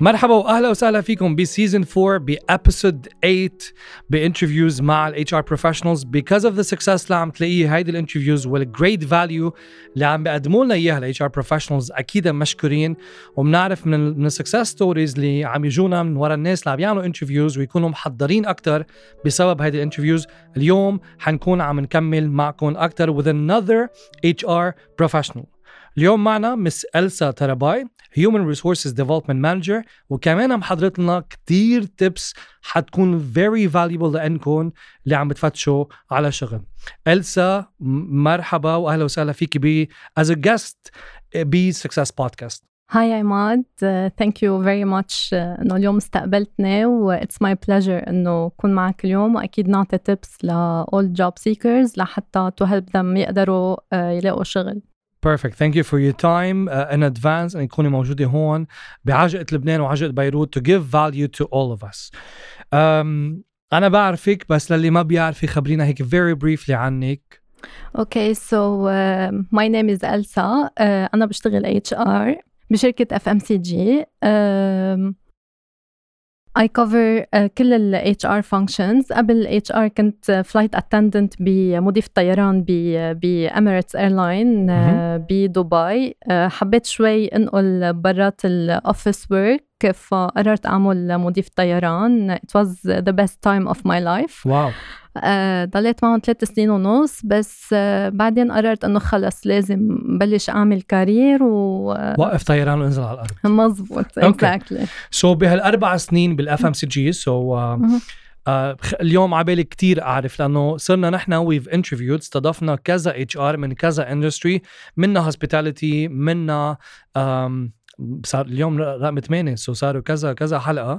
مرحبا واهلا وسهلا فيكم بسيزن 4 بابيسود 8 بانترفيوز مع الاتش ار بروفيشنالز. because of the success اللي عم تلاقيه هيدي الانترفيوز والجريت فاليو اللي عم بيقدموا لنا اياها الاتش ار بروفيشنالز اكيد مشكورين، وبنعرف من السكسس ستوريز اللي عم يجونا من ورا الناس اللي عم يعملوا انترفيوز ويكونوا محضرين اكثر بسبب هيدي الانترفيوز. اليوم حنكون عم نكمل معكم اكثر with another HR professional. اليوم معنا مس إلسا تراباي Human Resources Development Manager، وكمان محضرت لنا كتير tips حتكون very valuable لأنكم اللي عم بتفتشوا على شغل. إلسا مرحبا وأهلا وسهلا فيك as a guest Success Podcast. Hi عماد, thank you very much إنه اليوم استقبلتني و it's my pleasure إنه أكون معك اليوم، وأكيد نعطي tips ل all job seekers لحتى to help them يقدروا يلاقوا شغل. Perfect. Thank you for your time in advance أن تكوني موجودة هون بعجقة لبنان وعجقة بيروت to give value to all of us. أنا بعرفك بس للي ما بيعرفي خبرينا هيك very briefly عنك. Okay, so my name is Elsa. أنا بشتغل HR بشركة FMCG. I cover كل ال HR functions. قبل HR كنت flight attendant بمضيف الطيران ب Emirates Airline بدبي. حبيت شوي انقل برات ال office work فقررت أعمل مضيف طيران. It was the best time of my life. واو. ضليت معهم 3 سنين ونص بس بعدين قررت انه خلص لازم بلش اعمل كارير وقف طيران وانزل على الارض. مزبوط. exactly. So بهال4 سنين بالFMCG اليوم عبالي كتير أعرف لأنه صرنا نحن we've interviewed استضفنا كذا HR من كذا industry، منا hospitality، منا صار اليوم رقم 8 صاروا كذا حلقة،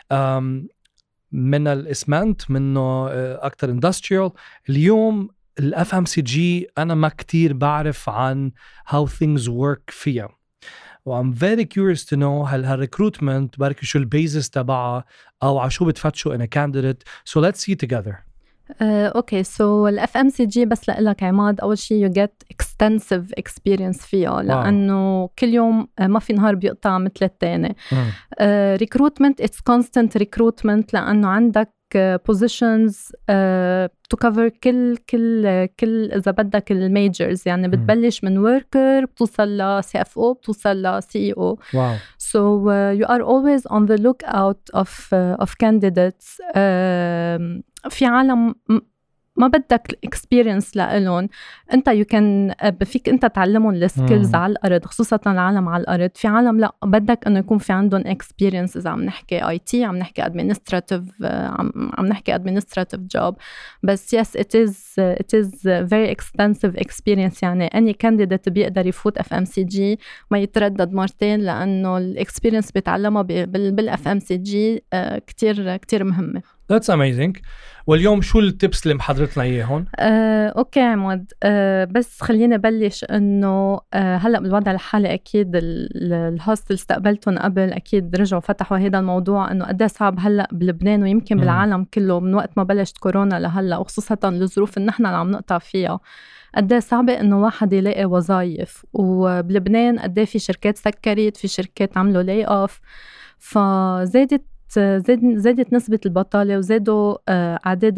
من الاسمنت، منه اكتر اندستريال. اليوم الFMCG انا ما كتير بعرف عن how things work فيها، I'm very curious to know هل هالريكروتمنت بركي شو البيزس تبعها او على شو بتفتشوا in a candidate. So let's see together. Okay, so FMCG بس لقلك عماد، أول شيء you get extensive experience فيها لأنه كل يوم ما في نهار بيقطع مثل التاني. recruitment it's constant recruitment لأنه عندك positions to cover كل إذا بدك الميجرز، يعني بتبلش من worker بتوصل ل CFO بتوصل ل CEO. Wow. So you are always on the lookout of candidates. في عالم ما بدك experience لإلهم، أنت فيك أنت تعلمهم السكيلز على الأرض، خصوصاً العالم على الأرض. في عالم لا بدك إنه يكون في عندهم experience. إذا عم نحكي IT، عم نحكي administrative، عم نحكي administrative job. بس yes it is very extensive experience. يعني any candidate بيقدر يفوت FMCG ما يتردد مرتين لأنه الexperience بيتعلمها بالFMCG كتير مهمة. That's amazing. واليوم شو التيبس اللي محضرتنا اياهم؟ اوكي عماد، بس خلينا نبلش انه هلا بالوضع الحالي اكيد الهوست اللي استقبلتهم قبل اكيد رجعوا فتحوا هذا الموضوع انه قد صعب هلا بلبنان ويمكن بالعالم كله من وقت ما بلشت كورونا لهلا، وخصوصا الظروف اللي نحن عم نقطع فيها. قد صعبة انه واحد يلاقي وظائف، وبلبنان قد في شركات سكرت، في شركات عملوا لاي اوف، فزادت نسبة البطالة وزادوا أعداد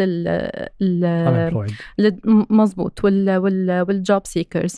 مزبوط والجوب سيكرز.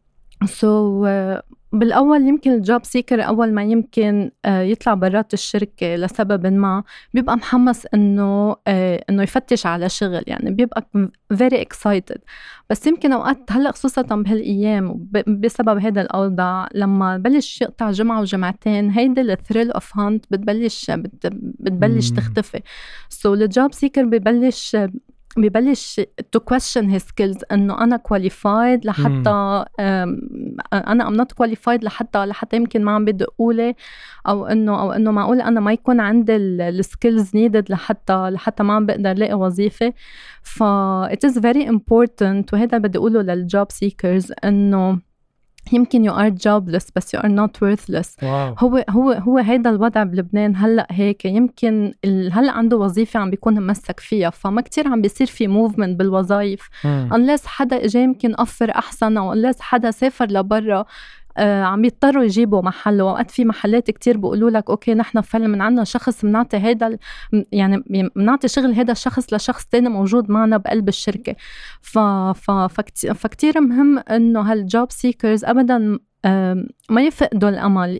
بالأول يمكن الجوب سيكر أول ما يمكن يطلع برات الشركة لسبب ما بيبقى محمس إنه يفتش على شغل، يعني بيبقى very excited. بس يمكن أوقات هلأ خصوصاً بهالأيام بسبب هذا الأوضاع لما بلش يقطع جمعة وجمعتين هيدا الثريل أوف هانت بتبلش تختفي. الجوب سيكر ببلش to question his skills إنه أنا qualified لحتى أنا I'm not qualified لحتى يمكن ما عم بدي أقوله، أو إنه معقول أنا ما يكون عندي الskills needed لحتى ما عم بقدر لاقي وظيفة. it is very important، وهذا بدي أقوله للجوب seekers إنه يمكن you are jobless بس you are not worthless. wow. هو هيدا الوضع بلبنان هلأ هيك. يمكن هلأ عنده وظيفة عم بيكون ممسك فيها، فما كتير عم بيصير في movement بالوظائف unless حدا إجا يمكن أفر أحسن، أو unless حدا سافر لبرا عم يضطروا يجيبوا محله. وقت في محلات كتير بيقولوا لك اوكي نحن فعلا من عنا شخص بنعطي هيدا يعني بنعطي شغل هيدا الشخص لشخص تاني موجود معنا بقلب الشركة. فكتير مهم انه هالجوب سيكرز ابدا ما يفقدوا الامل،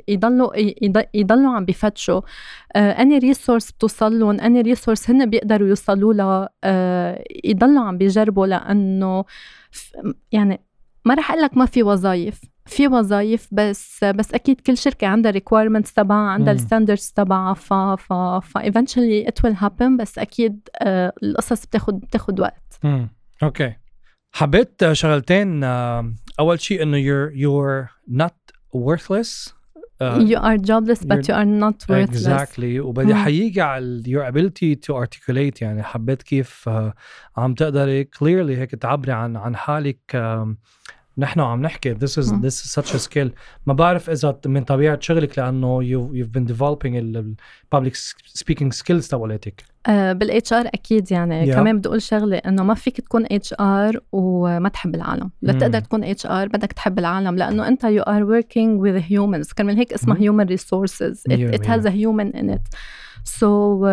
يضلوا عم بيفتشوا اني ريسورس بتوصل لهم، اني ريسورس هن بيقدروا يوصلوا لها، يضلوا عم بيجربوا. لانه يعني ما رح اقول لك ما في وظائف، في وظائف، بس اكيد كل شركه عندها requirements تبعها، عندها الستاندردز تبعها. ف eventually it will happen. بس اكيد القصص بتاخد وقت. اوكي. حبيت شغلتين. اول شيء انه you're not worthless. You are jobless but you are not worthless. Exactly. وبدي حييجي على your ability to articulate. يعني حبيت كيف عم تقدري clearly هيك تعبري عن حالك. نحن عم نحكي this is such a skill. ما بعرف إذا من طبيعة شغلك لأنه you've been developing public speaking skills تبعولتك. بالHR أكيد يعني كمان بدي أقول شغلة إنه ما فيك تكون HR وما تحب العالم. لا تقدر تكون HR بدك تحب العالم، لأنه أنت you are working with humans. كمان هيك اسمها human resources. It has a human in it. So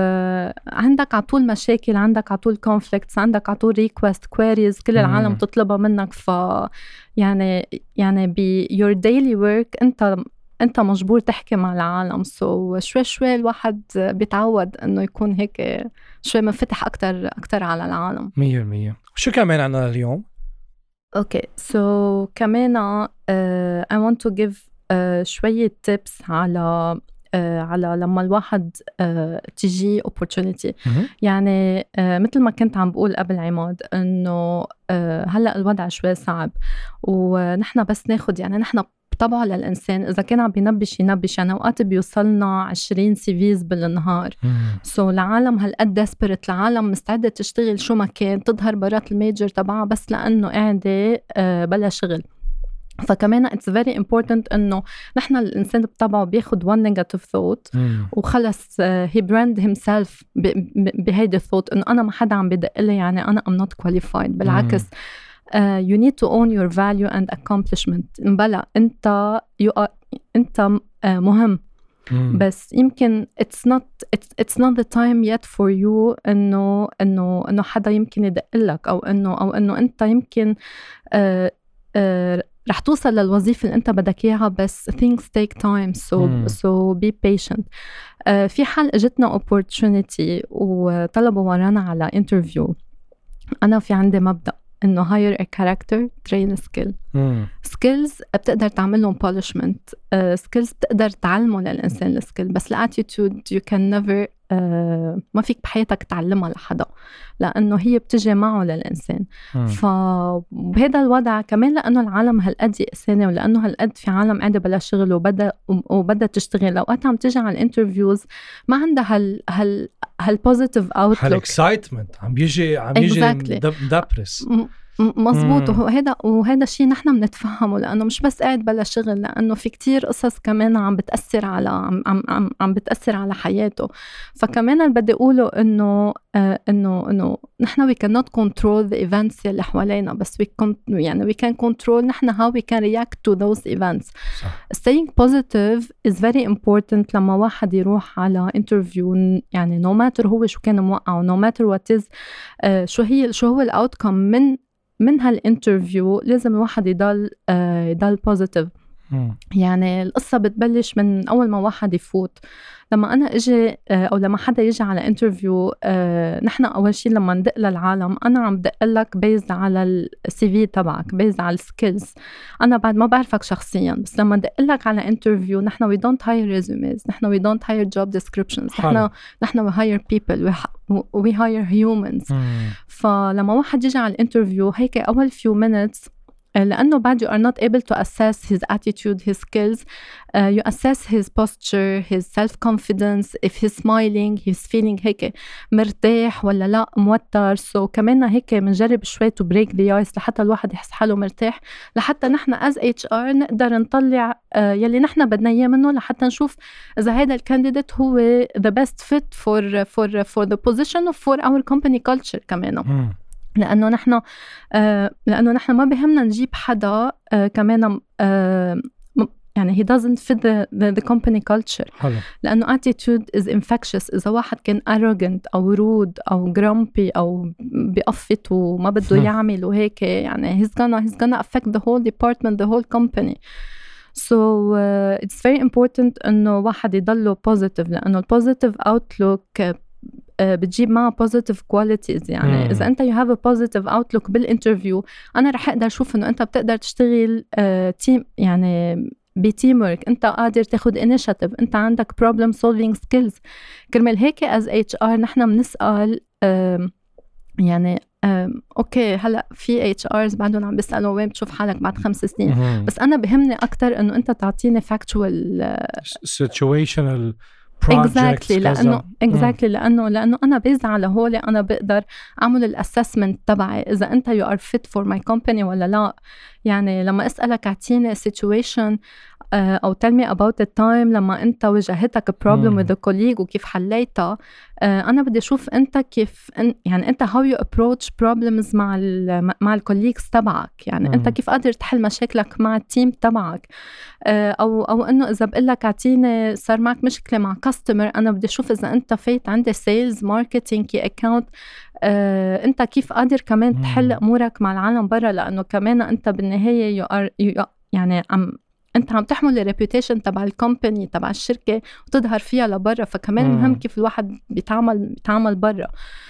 عندك عطول مشاكل، عندك عطول conflicts، عندك عطول request queries كل العالم تطلبها منك. يعني your daily work انت مجبور تحكي مع العالم. شوي الواحد بيتعود انه يكون هيك شوي منفتح اكتر على العالم. 100%. شو كمان عنا اليوم؟ اوكي كمان I want to give شوية tips على لما الواحد تيجي opportunity. يعني مثل ما كنت عم بقول قبل عماد انه هلأ الوضع شوي صعب، ونحن بس ناخد يعني نحن طبعا للإنسان إذا كان عم بينبش يعني أوقات بيوصلنا 20 CVs بالنهار. العالم هالقد desperate، العالم مستعدة تشتغل شو ما كان، تظهر برات الميجر تبعها بس لأنه قاعدة بلا شغل. فكمان it's very important إنه نحن الإنسان بطبعه بياخد one negative thought وخلص he brand himself بهيدا thought إنه أنا ما حدا عم بدق لي يعني أنا I'm not qualified. بالعكس you need to own your value and accomplishment. بلا أنت مهم بس يمكن it's not the time yet for you إنه حدا يمكن يدق لك أو إنه أنت يمكن رح توصل للوظيفة اللي أنت بدك إياها، بس things take time so be patient. في حال اجتنا opportunity وطلبوا ورانا على interview. أنا في عندي مبدأ إنه hire a character train a skill. skills بتقدر تعملهم polishment. skills بتقدر تعلمه للإنسان السكيل، بس attitude you can never ما فيك بحياتك تعلمها لحدا لأنه هي بتجي معه للإنسان. فبهذا الوضع كمان لأنه العالم هالقد يأساني ولأنه هالقد في عالم قاعدة بلا شغل وبدأ تشتغل، أوقات عم تجي على الانترفيوز ما عندها هالبوزيتيف اوتلوك، هالاكسايتمنت عم بيجي مدبرس. مزبوط. وهذا الشيء نحن بنتفهمه لأنه مش بس قاعد بلا شغل، لأنه في كتير قصص كمان عم بتأثر على حياته. فكمان اللي بدي أقوله إنه نحن we cannot control the events اللي حوالينا، بس we can control نحن how we can react to those events. صح. Staying positive is very important لما واحد يروح على interview. يعني no matter هو شو كان موقعه، no matter what is شو هو الأوتكم من هالانترفيو، لازم الواحد يضل بوزيتيف. يعني القصة بتبلش من أول ما واحد يفوت. لما أنا أجي أو لما حدا يجي على انترفيو، نحن أول شيء لما ندق للعالم أنا عم دق لك بيز على الCV تبعك، بيز على السكيلز. أنا بعد ما بعرفك شخصيا، بس لما ندق لك على انترفيو نحن we don't hire resumes، نحن we don't hire job descriptions، نحن we hire people، we hire humans. فلما واحد يجي على الانترفيو هيك أول few minutes، لأنه بعد you are not able to assess his attitude, his skills, you assess his posture, his self-confidence, if he's smiling, he's feeling هيك مرتاح ولا لا موتر. كمان هيك منجرب شوي to break the ice لحتى الواحد يحس حاله مرتاح، لحتى نحن as HR نقدر نطلع يلي نحن بدنا إياه منه، لحتى نشوف إذا هذا الكانديديت هو the best fit for the position or for our company culture كمان. لأنه نحن ما بهمنا نجيب حدا كمان يعني he doesn't fit the company culture. حلو. لأنه attitude is infectious. إذا واحد كان arrogant أو rude أو grumpy أو بيقفط وما بده يعمل وهيك يعني he's gonna affect the whole department, the whole company. So it's very important إنه واحد يضله positive لأنه positive outlook بتجيب معها positive qualities. يعني إذا أنت you have a positive outlook بالinterview أنا رح أقدر أشوف إنه أنت بتقدر تشتغل team يعني بتيمورك، أنت قادر تاخد initiative، أنت عندك problem solving skills. كرمال هيك as HR نحن بنسأل يعني أوكي هلأ في HRs بعدهم عم بيسألوا وين بتشوف حالك بعد 5 سنين، بس أنا بهمني أكتر إنه أنت تعطيني factual situational exactly لأنه أنا بيز على هولي أنا بقدر أعمل الأسسمنت تبعي إذا أنت you are fit for my company ولا لا. يعني لما أسألك أعطيني situation أو tell me about the time لما أنت واجهتك problem with a colleague وكيف حليتها، أنا بدي أشوف أنت كيف يعني أنت how you approach problems مع الكوليجز تبعك. يعني أنت كيف قادر تحل مشاكلك مع التيم تبعك، أو إنه إذا بقولك أعطيني صار معك مشكلة مع customer، أنا بدي أشوف إذا أنت فايت عندي sales marketing key account، أنت كيف قادر كمان تحل أمورك مع العالم برا، لأنه كمان أنت بالنهاية يعني أنت عم تحمل الريبيوتيشن تبع الكومباني تبع الشركة وتظهر فيها لبرا، فكمان مهم كيف الواحد بيتعامل برا.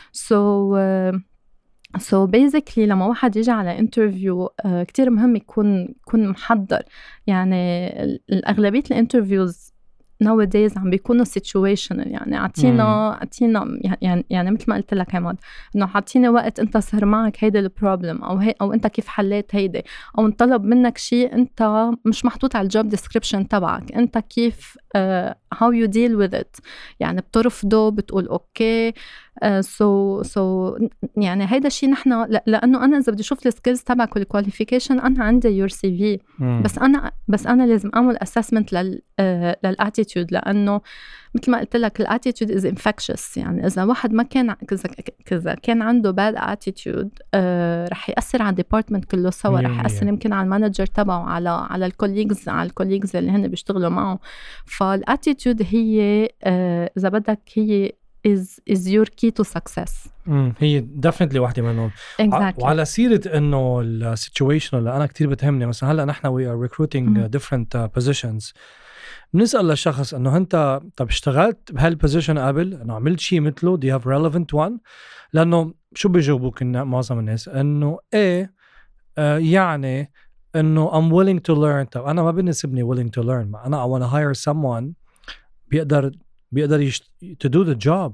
So basically لما واحد يجي على interview كتير مهم يكون محضر. يعني الأغلبية الانترفيوز nowadays عم بيكونوا situational. يعني عطينا يعني مثل ما قلت لك عماد انه عطيني وقت انت صار معك هيدا البروبلم او انت كيف حليت هيدا، او انطلب منك شيء انت مش محطوط على الجوب ديسكريبشن تبعك، انت كيف how you deal with it. يعني بترفضه بتقول اوكي. so يعني هيدا الشيء نحن لانه انا اذا بدي اشوف السكيلز تبعك والكواليفيكيشن انا عندي يور سي في، بس انا لازم اعمل اسسمنت للاتيتيود، لانه مثل ما قلت لك الاتيتيود از انفكشس. يعني اذا واحد ما كان كذا كان عنده باد اتيتيود رح ياثر على الديبارتمنت كله سوا، رح ياثر يمكن على المانجر تبعه، على الكوليجز اللي هن بيشتغلوا معه. فالاتيتيود هي اذا بدك هي is your key to success. هي definitely واحدة منهم. exactly. وعلى سيرة إنه السيتويشن اللي أنا كتير بتهمني، مثلا هلا نحن we are recruiting different positions، بنسأل للشخص إنه أنت طب اشتغلت بهالبوزيشن قبل، إنه عملت شيء مثله، do you have relevant one؟ لأنه شو بيجاوبوك معظم الناس إنه إيه يعني إنه I'm willing to learn. طب أنا ما بنسبني willing to learn، ما أنا I want to hire someone بيقدر to do the job.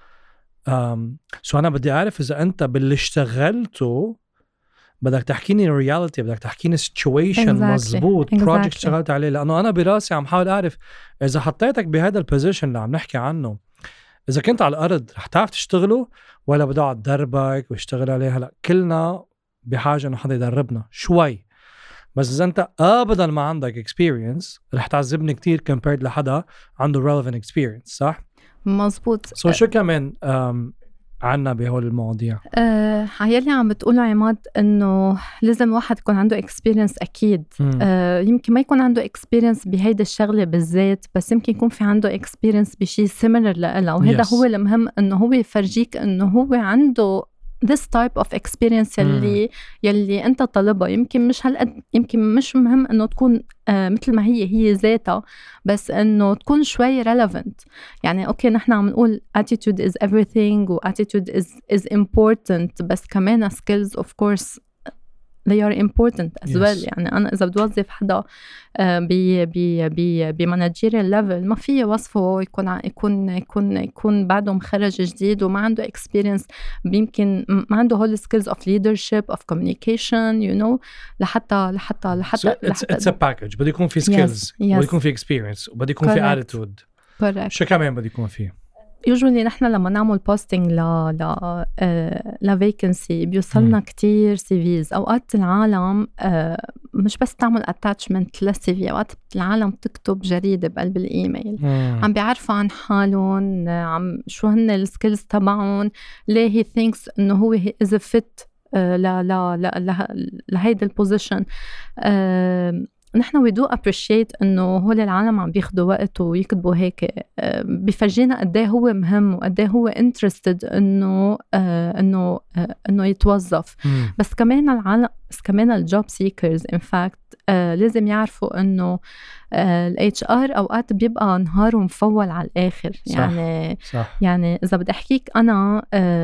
so أنا بدي أعرف إذا أنت باللي اشتغلته بدك تحكيني reality، بدك تحكيني situation مزبوط project اشتغلت عليه، لأنه أنا براسي عم حاول أعرف إذا حطيتك بهذا البوزيشن اللي عم نحكي عنه، إذا كنت على الأرض رح تعرف تشتغله ولا بدي أقعد دربك واشتغل عليه. هلأ كلنا بحاجة إنه حدا يدربنا شوي، بس إذا أنت أبداً ما عندك experience رح تعذبني كتير compared لحدا عنده relevant experience. صح؟ مزبوط. شو كمان عنا بهول المواضيع؟ يلي عم بتقوله عماد إنه لازم واحد يكون عنده experience أكيد. يمكن ما يكون عنده experience بهيدا الشغلة بالذات، بس يمكن يكون في عنده experience بشي similar لإلها، وهذا هو المهم، إنه هو يفرجيك إنه هو عنده this type of experience يلي أنت طالبها. يمكن مش هالقد، يمكن مش مهم إنه تكون مثل ما هي ذاتها، بس إنه تكون شوي relevant. يعني أوكي نحن عم نقول attitude is everything و attitude is important، بس كمان skills of course they are important as well. يعني أنا إذا بدي أوظف حدا بمانجيريال ليفل ما فيه وصفه يكون بعده مخرج جديد وما عنده experience، يمكن ما عنده whole skills of leadership of communication you know لحتى it's a package. بدي يكون في skills بدي يكون في experience وبدي يكون في attitude. شو كمان بدي يكون فيه؟ usually نحن لما نعمل posting ل vacancy بيوصلنا كتير CVs. أوقات العالم مش بس تعمل attachment للCV، أوقات العالم تكتب جريدة بقلب الإيميل عم بيعرفوا عن حالهم، عم شو هن السكيلز تبعهم، ليه he thinks إنه هو is a fit لهيدا البوزيشن. نحن we do appreciate إنه هول العالم عم بياخدوا وقت ويكتبوا هيك. بيفرجينا قديه هو مهم وقديه هو interested إنه يتوظف. بس كمان العالم، بس كمان الجوب سيكرز in fact لازم يعرفوا إنه ال HR أوقات بيبقى نهاره مفول على الآخر. يعني صح. يعني إذا بدي أحكيك أنا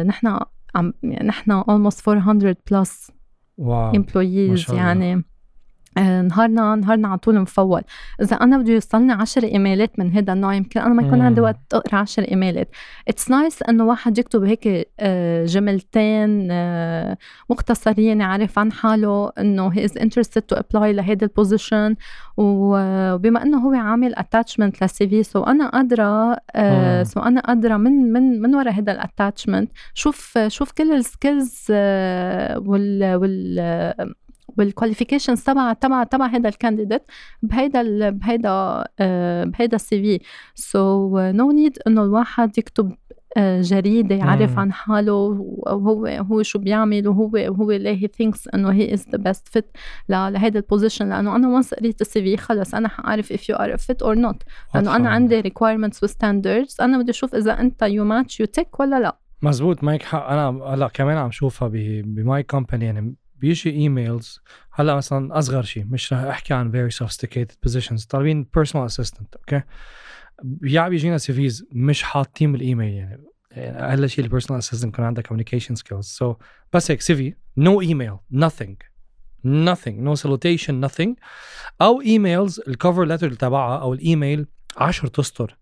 نحن almost 400 plus employees. يعني نهارنا على طول مفول. إذا أنا بدي يوصلني 10 إيميلات من هذا النوع يمكن أنا ما يكون عندي وقت أقرأ 10 إيميلات. It's nice إنه واحد يكتب هيك جملتين مختصرين يعرف عن حاله إنه he is interested to apply لهذا البوزيشن، وبما إنه هو عامل attachment للCV سو أنا قادرة من وراء هذا الاتاتشمنت شوف كل السكيلز والكواليفيكيشنز تبع هذا الكانديديت بهيدا السي في. سو نو نيد انه الواحد يكتب جريدة يعرف عن حاله وهو شو بيعمل وهو ليه he thinks انه he is the best fit لهذا البوزيشن. لانه انا once قريت السي في خلص انا حعرف if you are a fit or not. لانه انا عندي requirements و standards، انا بدي اشوف اذا انت you match you tick ولا لا. مزبوط، معك حق. انا هلا كمان عم شوفها بماي كومباني. يعني بيجي ايميلز هلا مثلا اصغر شيء، مش رح احكي عن very sophisticated positions، طالبين personal assistant اوكي، بيجينا سيفيز مش حاطين بالايميل. يعني اقل شيء البيرسونال اسيستنت يكون عندها communication skills. so بس هيك CV no email nothing no salutation nothing، او ايميلز الكفر ليتر تبعها او الايميل 10 أسطر.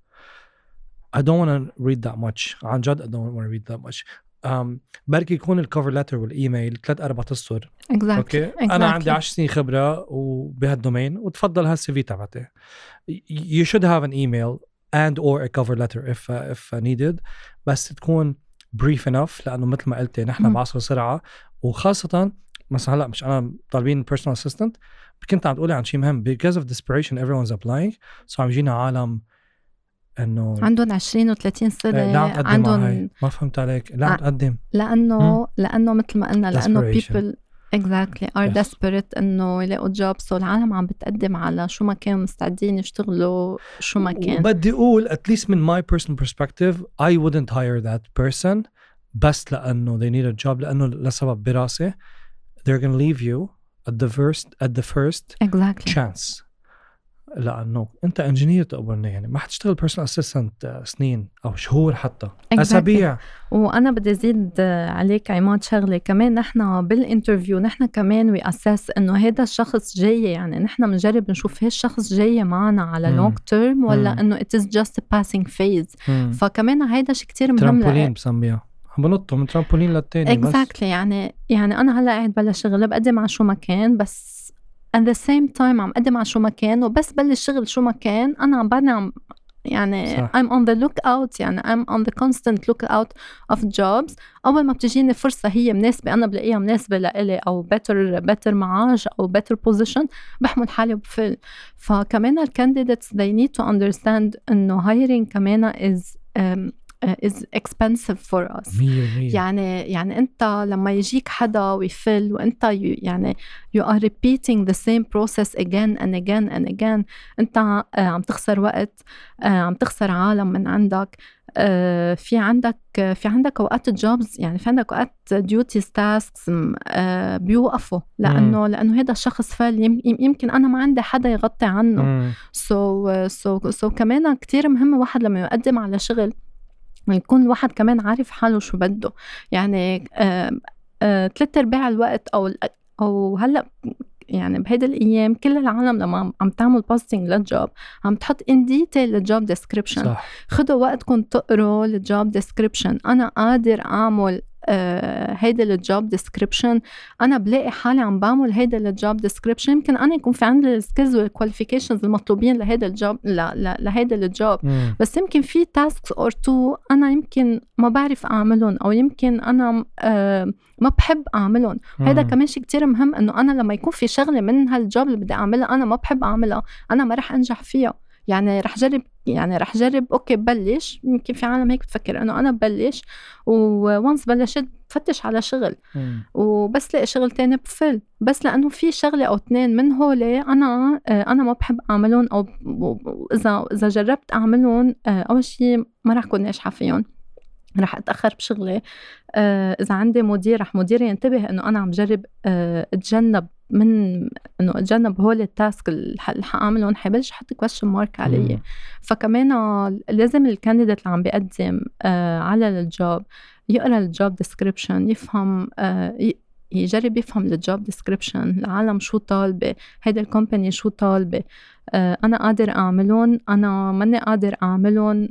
I don't want to read that much. عن جد I don't want to read that much. بركي يكون الكفر ليتر والايميل 3-4 أسطر. اوكي انا عندي 10 سنين خبره وبهالدومين، وتفضل هالسي في تبعتي. you should have an email and or a cover letter if needed، بس تكون brief enough. لانه مثل ما قلتي نحن بعصر سرعه، وخاصه مثلا هلا مش انا طالبين personal assistant، كنت عم تقولي عن شيء مهم because of desperation everyone's applying. so عم يجينا عالم انه عندهم 20 و30 سنه عندهم ما فهمت عليك. لا تقدم لانه مثل ما قلنا لانه people exactly are desperate انه يلاقوا job. so العالم عم بتقدم على شو ما كانوا مستعدين يشتغلوا شو ما كان. وبدي اقول at least من my personal perspective I wouldn't hire that person بس لانه they need a job، لانه لسبب براسي they're gonna leave you at the first exactly chance. لأنه أنت انجينير تقبلني، يعني ما حتشتغل بيرسونال اسيستنت سنين أو شهور حتى أسابيع. وأنا بدي أزيد عليك عماد شغلة كمان. نحن بالانترفيو نحن كمان ويأساس إنه هذا الشخص جاي، يعني نحن بنجرب نشوف هالشخص جاي معنا على long term ولا إنه it is just a passing phase. فكمان هيدا شيء كتير مهم. ترامبولين بسميها، بنطوا من ترامبولين للتاني. exactly يعني أنا هلا قاعد بلا شغل بقدم على شو مكان، بس at the same time عم قدم على شو مكان، وبس بلش شغل شو مكان أنا عم يعني صح. I'm on the lookout، يعني I'm on the constant lookout of jobs. أول ما بتجيني فرصة هي مناسبة، أنا بلاقيها مناسبة لإلي أو better معاش أو better position، بحمل حالي وبفل. فكمان الcandidates they need to understand إنه hiring كمان is expensive for us. يعني أنت لما يجيك حدا ويفل وأنت يعني you are repeating the same process again and again and again، أنت عم تخسر وقت، عم تخسر عالم من عندك. في عندك أوقات jobs، يعني في عندك أوقات duties tasks بيوقفوا لأنه هذا الشخص فل، يمكن أنا ما عندي حدا يغطي عنه. so كمان كتير مهم واحد لما يقدم على شغل يكون الواحد كمان عارف حاله شو بده. يعني 3/4 الوقت أو هلأ يعني بهيدا الأيام كل العالم لما عم تعمل بوستينج للجوب عم تحط in detail الجوب ديسكريبشن. خدوا وقتكم تقروا الجوب ديسكريبشن. أنا قادر أعمل هيدا الجوب ديسكريبشن، انا بلاقي حالي عم بعمل هيدا الجوب ديسكريبشن. يمكن انا يكون في عندي السكيلز والكواليفيكيشنز المطلوبين لهيدا الجوب لهيدا الجوب، بس يمكن في تاسكس اور تو انا يمكن ما بعرف اعملهم، او يمكن انا ما بحب اعملهم. هيدا كمان شيء كتير مهم، انه انا لما يكون في شغله من هالجوب اللي بدي اعملها انا ما بحب اعملها، انا ما رح انجح فيها. يعني رح جرب اوكي ببلش. يمكن في عالم هيك بتفكر انه انا ببلش وونس بلشت بفتش على شغل وبس لاقي شغل تاني بفل، بس لأنه في شغلة أو 2 من هولي أنا ما بحب أعملهم، أو إذا جربت أعملهم أول شيء ما رح أكون ناجحة فيهم، رح أتأخر بشغلي. إذا عندي مدير رح مديري ينتبه إنه أنا عم جرب أتجنب من إنه أتجنب هول التاسك اللي حأعملهم، حيبلش يحط question mark علي. فكمان لازم الكانديديت اللي عم بيقدم على الجوب يقرأ الجوب ديسكريبشن، يفهم يجرب يفهم الجوب ديسكريبشن، العالم شو طالبة، هيدا الكومباني شو طالبة، أنا قادر أعملون، أنا ماني قادر أعملون.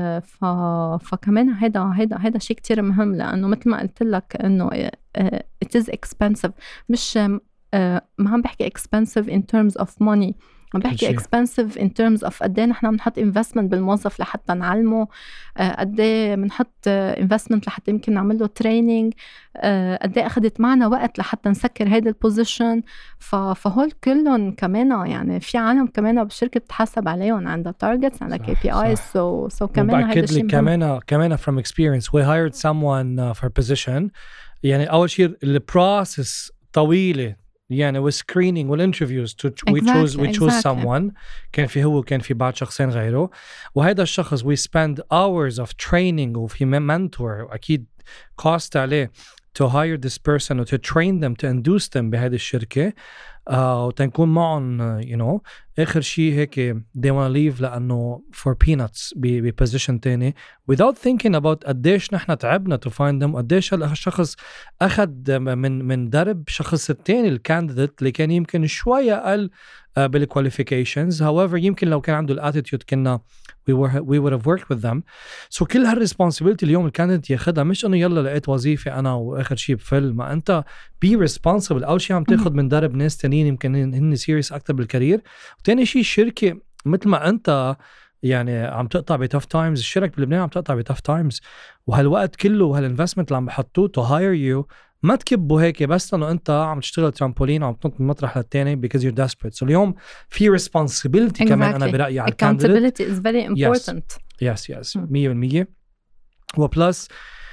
فكمان هيدا شيء كتير مهم، لأنه مثل ما قلت لك إنه it is expensive، مش ما عم بحكي expensive in terms of money، عم بحكي expensive in terms of قديه نحن بنحط investment بالموظف لحتى نعلمه، قديه بنحط investment لحتى يمكن نعمل له training، قديه أخذت معنا وقت لحتى نسكر هيدا البوزيشن. فهول كلهم كمان يعني في عالم كمان بالشركة بتحاسب عليهم، عندها targets، عندها KPIs. so كمان هيدا الشيء كمان from experience we hired someone for position. يعني أول شيء البروسس طويلة، يعني screening والinterviews we choose someone، كان في هو كان في بعض شخصين غيره، وهذا الشخص we spend hours of training وفي mentor، وأكيد cost عليه to hire this person to train them to induce them بهذه الشركة، وتنكون معهم آخر شيء هيك they want to leave لأنه for peanuts بposition تاني without thinking about قديش نحن تعبنا to find them، قديش الشخص أخذ من درب شخص التاني الكانديديت اللي كان يمكن شوية أقل بالqualifications. however يمكن لو كان عنده الاتيتيود كنا we would have worked with them. so كل هالresponsibility اليوم الكانديديت ياخدها، مش انه يلا لقيت وظيفة انا واخر شيء بفل، ما انت be responsible. اول شيء عم تاخد من درب ناس تانيين يمكن هن سيريس اكتر بالكارير، وتاني شيء الشركة مثل ما انت يعني عم تقطع بتاف تايمز، الشركة بلبنان عم تقطع بتاف تايمز، وهالوقت كله وهالinvestment اللي عم بحطوه to hire you ما تكبوا هيك بس لأنه أنت عم تشتغل ترامبولين وعم تنط من مطرح للتاني because you're desperate. so اليوم في responsibility كمان أنا برأيي على accountability is very important. yes 100%. وبلس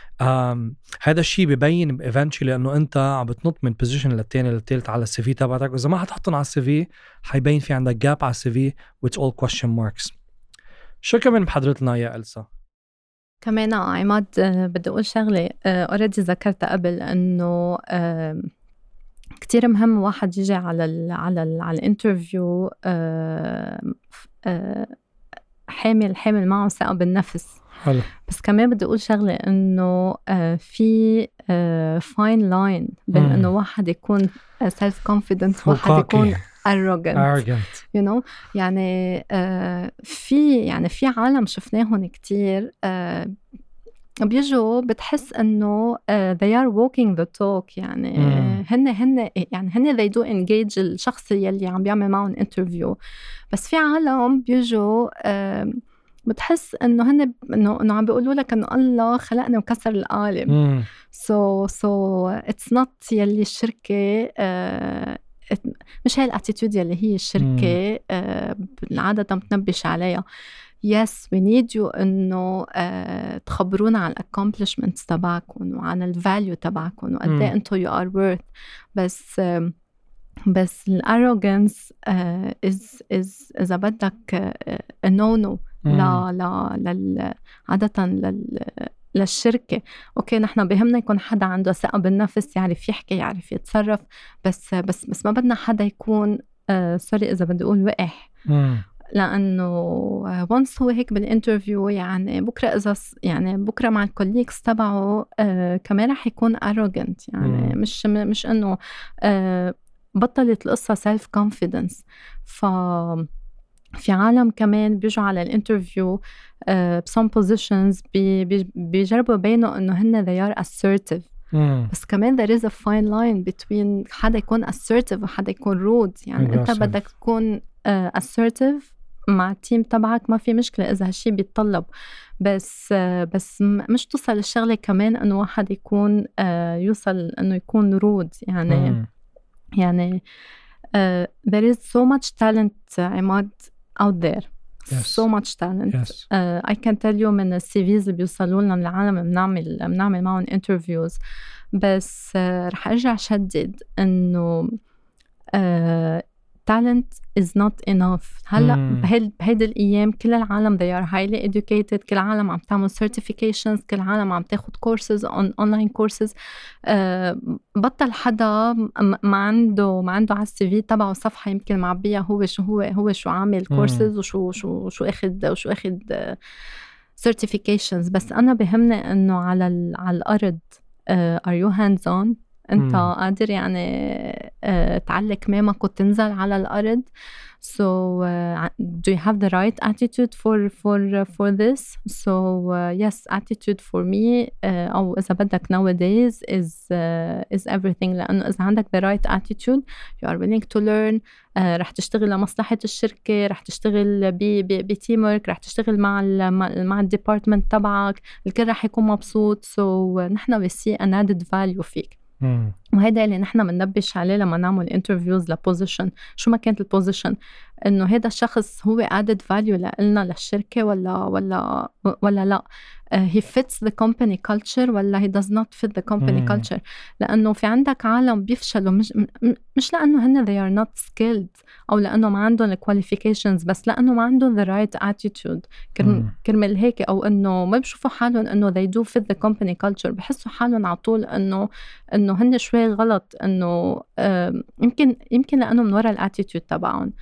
هذا الشيء ببين eventually لأنه أنت عم بتنط من position للتاني للتالت على السي في تبعتك، وإذا ما حتحطن على السي في حيبين في عندك gap على السي في with all question marks. شو كمان بحضرتنا يا ألسا؟ كمان عماد بدي أقول شغلة already ذكرتها قبل، إنه كتير مهم واحد يجي على الانترفيو حامل معه ثقة بالنفس. حلو. بس كمان بدي أقول شغلة، إنه في fine line بين إنه واحد يكون self confident وواحد يكون arrogant. you know يعني في عالم شفناهم كتير بيجوا بتحس انه they are walking the talk، يعني هن they do engage الشخص يلي عم بيعمل معهم interview. بس في عالم بيجوا بتحس انه هن انه عم بيقولوا لك انه الله خلقنا وكسر القالب. so it's not يلي الشركة مش هاي الاتيتيود يلي هي الشركة عادة بتنبش عليها. yes we need you إنه تخبرونا عن accomplishments تبعكم وعن الفاليو تبعكم وقد ايه انتو you are worth. بس الارروغانس إذا بدك no لا عادة للشركة. أوكي نحن بهمنا يكون حدا عنده ثقة بالنفس، يعرف يحكي يعرف يتصرف، بس ما بدنا حدا يكون سوري إذا بدي أقول وقح، لأنه وانس هو هيك بالانترفيو يعني بكرة مع الكوليكس تبعه كمان رح يكون arrogant، يعني مش إنه بطلت القصة self confidence. في عالم كمان بيجوا على الانترفيو some positions بيجربوا يبينوا إنه هن they are assertive. بس كمان there is a fine line between حدا يكون assertive وحدا يكون rude. يعني أنت بدك تكون assertive مع التيم تبعك ما في مشكلة إذا هالشي بيتطلب، بس مش توصل الشغلة كمان إنه واحد يكون يوصل إنه يكون rude. يعني there is so much talent عماد out there so much talent. Yes. I can tell you من الCVs اللي بيوصلوا لنا من العالم بنعمل معهم interviews. بس رح أرجع شدد إنه talent is not enough. هلأ بهيدا الأيام كل العالم they are highly educated. كل العالم عم تعمل certifications. كل العالم عم تاخد courses online courses. بطل حدا ما عنده على الCV تبعه صفحة يمكن معبيها هو شو عامل courses وشو أخد certifications. بس أنا بهمني إنه على الأرض are you hands on؟ أنت قادر يعني تعلق كمامك وتنزل على الأرض. So do you have the right attitude for this? So yes, attitude for me أو إذا بدك nowadays is everything. لأنه إذا عندك the right attitude you are willing to learn. رح تشتغل لمصلحة الشركة. رح تشتغل بتيمورك. رح تشتغل مع الديبارتمنت تبعك. الكل رح يكون مبسوط. So نحن we see an added value فيك. وهذا اللي نحن مننبش عليه لما نعمل interviews لبوزيشن. شو ما كانت البوزيشن إنه هذا الشخص هو added value لنا للشركة ولا لا. he fits the company culture ولا he does not fit the company culture. لأنه في عندك عالم بيفشلوا مش لأنه هن they are not skilled أو لأنه ما عندهم qualifications بس لأنه ما عندهم the right attitude. كرمال هيك أو إنه ما بيشوفوا حالهم إنه they do fit the company culture. بحسوا حالهم على طول إنه هن شوي غلط. إنه يمكن لأنه من وراء attitude تبعهم.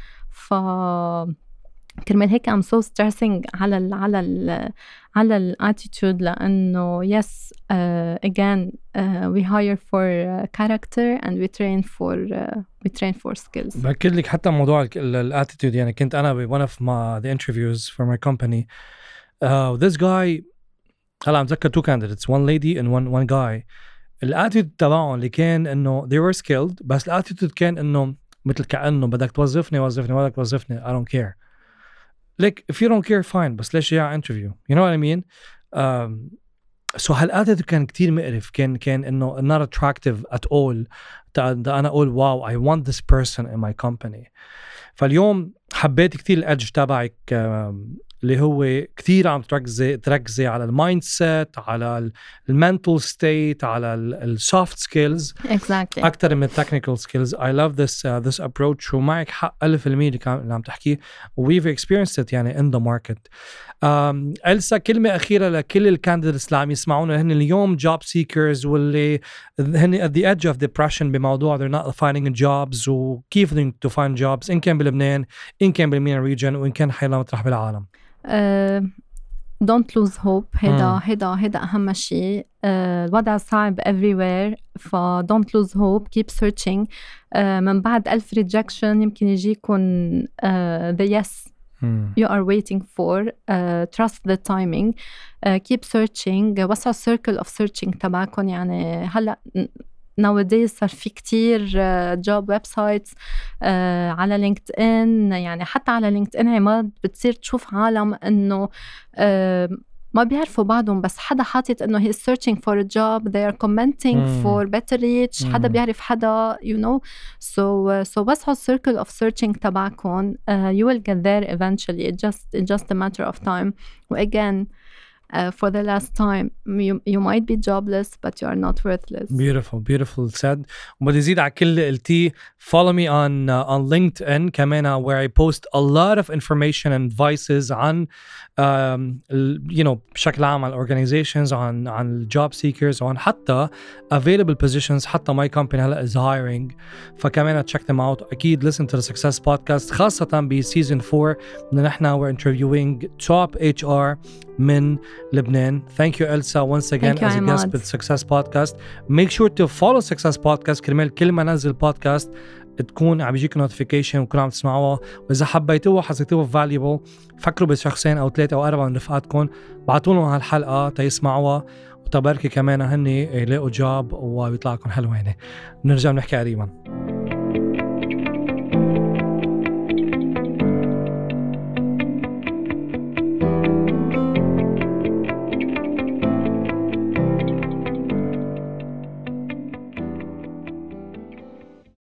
كرمال هيك I'm so stressing على attitude لأنه yes again we hire for character and we train for skills. بأكد لك حتى موضوع attitude يعني كنت أنا one of the interviews for my company this guy هلا أتذكر two candidates one lady and one guy. الاتيتود تبعهم اللي كان إنه they were skilled بس الاتيتود كان إنه مثل كأنه بدك توظفني بدك توظفني I don't care. Like if you don't care fine بس ليش جاي على interview you know what I mean. So هالاتيتود كان كتير مقرف. كان إنه not attractive at all. أنا أقول wow I want this person in my company. فاليوم حبيت كتير الأدج تبعك اللي هو كتير عم تركزي على المايند سيت على المنتال ستيت على السوفت سكيلز exactly. أكتر من التكنيكال سكيلز. I love this approach ومعك حق 1000% اللي عم تحكيه we've experienced it يعني in the market. ألسا كلمة أخيرة لكل الكانديديتس اللي عم يسمعونا هن اليوم job seekers واللي هن at the edge of depression بموضوع they're not finding jobs وكيف to find jobs إن كان بلبنان إن كان بالمينا region وإن كان حيلا مطرح بالعالم. don't lose hope. هيدا أهم شيء. الوضع صعب everywhere ف don't lose hope keep searching. من بعد 1000 rejection يمكن يجيكن the yes you are waiting for. Trust the timing. Keep searching. وسعوا circle of searching تبعكن. يعني هلأ nowadays صار في كتير job websites على لينكد إن. يعني حتى على لينكد إن عماد بتصير تشوف عالم إنه ما بيعرفوا بعضهم بس حدا حاطط إنه he is searching for a job they are commenting for better reach. حدا بيعرف حدا you know. So وسعوا circle of searching تبعكم. You will get there eventually. It's just a matter of time. Again for the last time you might be jobless but you are not worthless. Beautiful said. وبدي زيد على كل قلتي follow me on LinkedIn كمان where I post a lot of information and advices عن you know بشكل عام عن organizations عن job seekers وعن حتى available positions. حتى my company هلا is hiring فكمان check them out. أكيد listen to the Success Podcast خاصة بسيزن 4 إن نحنا we're interviewing top HR من Lebanon. Thank you Elsa once again as a guest with Success Podcast. Make sure to follow Success Podcast كرمال كل ما ننزل بودكاست تكون عم يجيك notification وكون عم تسمعوها. وإذا حبيتوها حسيتوها valuable فكروا بشخصين أو 3 أو 4 من رفقاتكم بعتوا لهم هالحلقة تيسمعوها وتباركي كمان هني يلاقوا جاب ويطلع لكم حلوين. نرجع نحكي قريبا.